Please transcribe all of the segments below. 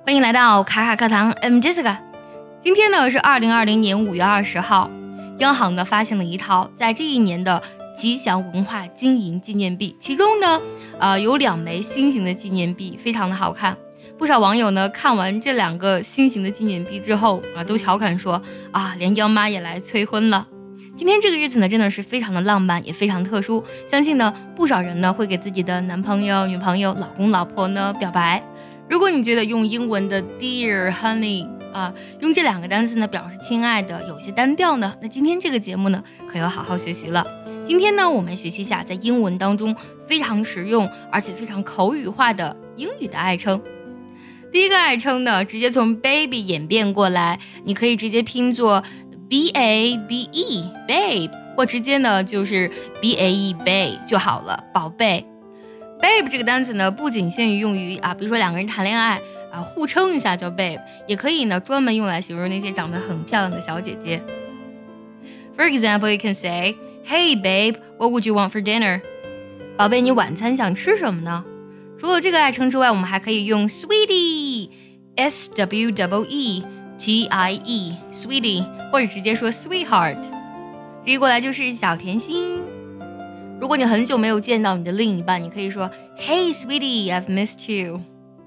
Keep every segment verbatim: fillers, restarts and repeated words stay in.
欢迎来到卡卡课堂 ，I'm Jessica。今天呢是二零二零年五月二十号，央行呢发行了一套在这一年的吉祥文化经营纪念币，其中呢，呃有两枚新型的纪念币，非常的好看。不少网友呢看完这两个新型的纪念币之后啊，都调侃说啊，连央妈也来催婚了。今天这个日子呢，真的是非常的浪漫，也非常特殊。相信呢，不少人呢会给自己的男朋友、女朋友、老公、老婆呢表白。如果你觉得用英文的 Dear、Honey 啊，用这两个单词呢表示亲爱的有些单调呢，那今天这个节目呢可要好好学习了。今天呢，我们学习一下在英文当中非常实用而且非常口语化的英语的爱称。第一个爱称呢，直接从 baby 演变过来，你可以直接拼作 B A B E babe， 或直接呢就是 B A E babe 就好了，宝贝。babe 这个单词呢，不仅限于用于啊，比如说两个人谈恋爱啊，互称一下叫 babe， 也可以呢专门用来形容那些长得很漂亮的小姐姐。For example, you can say, Hey babe, what would you want for dinner? 宝贝，你晚餐想吃什么呢？除了这个爱称之外，我们还可以用 sweetie, S W E E T I E, sweetie， 或者直接说 sweetheart， 直译过来就是小甜心。如果你很久没有见到你的另一半，你可以说 Hey sweetie, I've missed you。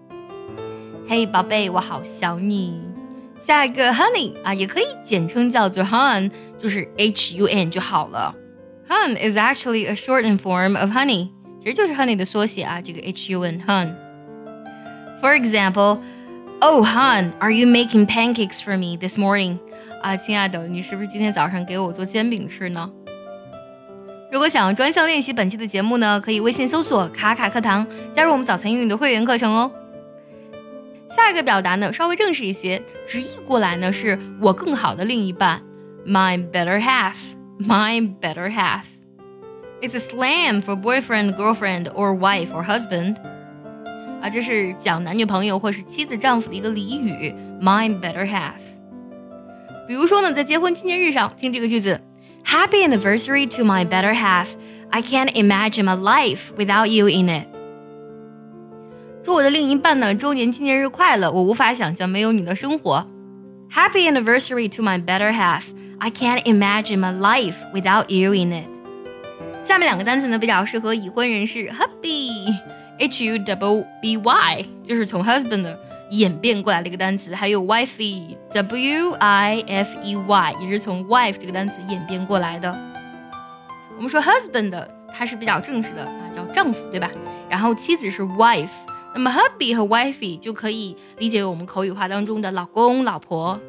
Hey 宝贝，我好想你。下一个 honey 啊，也可以简称叫做 hun， 就是 H U N 就好了。 Hun is actually a shortened form of honey， 其实就是 honey 的缩写啊，这个 H U N hun。 For example, Oh hun, are you making pancakes for me this morning? 啊，亲爱的，你是不是今天早上给我做煎饼吃呢？如果想要专项练习本期的节目呢，可以微信搜索卡卡课堂，加入我们早餐英语的会员课程哦。下一个表达呢稍微正式一些，直译过来呢是我更好的另一半， My better half, my better half. It's a slang for boyfriend, girlfriend, or wife or husband. 啊，这是讲男女朋友或是妻子丈夫的一个俚语， my better half。 比如说呢，在结婚纪念日上听这个句子， Happy anniversary to my better half. I can't imagine my life without you in it. 祝我的另一半呢周年纪念日快乐，我无法想象没有你的生活。 Happy anniversary to my better half. I can't imagine my life without you in it. 下面两个单词呢比较适合已婚人士， hubby H U B B Y 就是从 husband 的演变过来的一个单词，还有 wifey W I F E Y 也是从 wife 这个单词演变过来的。我们说 husband 它是比较正式的啊，叫丈夫，对吧？然后妻子是 wife， 那么 hubby 和 wifey 就可以理解为我们口语化当中的老公老婆。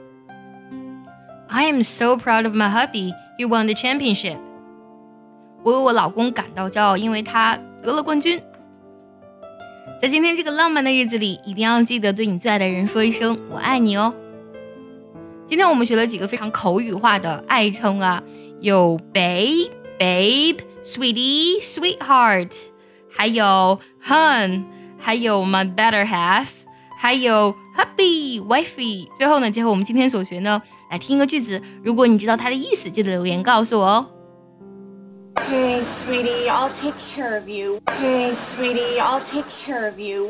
I am so proud of my hubby, he won the championship. 我为我老公感到骄傲，因为他得了冠军。在今天这个浪漫的日子里，一定要记得对你最爱的人说一声我爱你哦。今天我们学了几个非常口语化的爱称啊，有 babe, babe, sweetie, sweetheart， 还有 hun， 还有 my better half， 还有 hubby, wifey。 最后呢，结合我们今天所学呢，来听一个句子，如果你知道它的意思，记得留言告诉我哦。 Hey, sweetie, I'll take care of you. Hey, sweetie, I'll take care of you.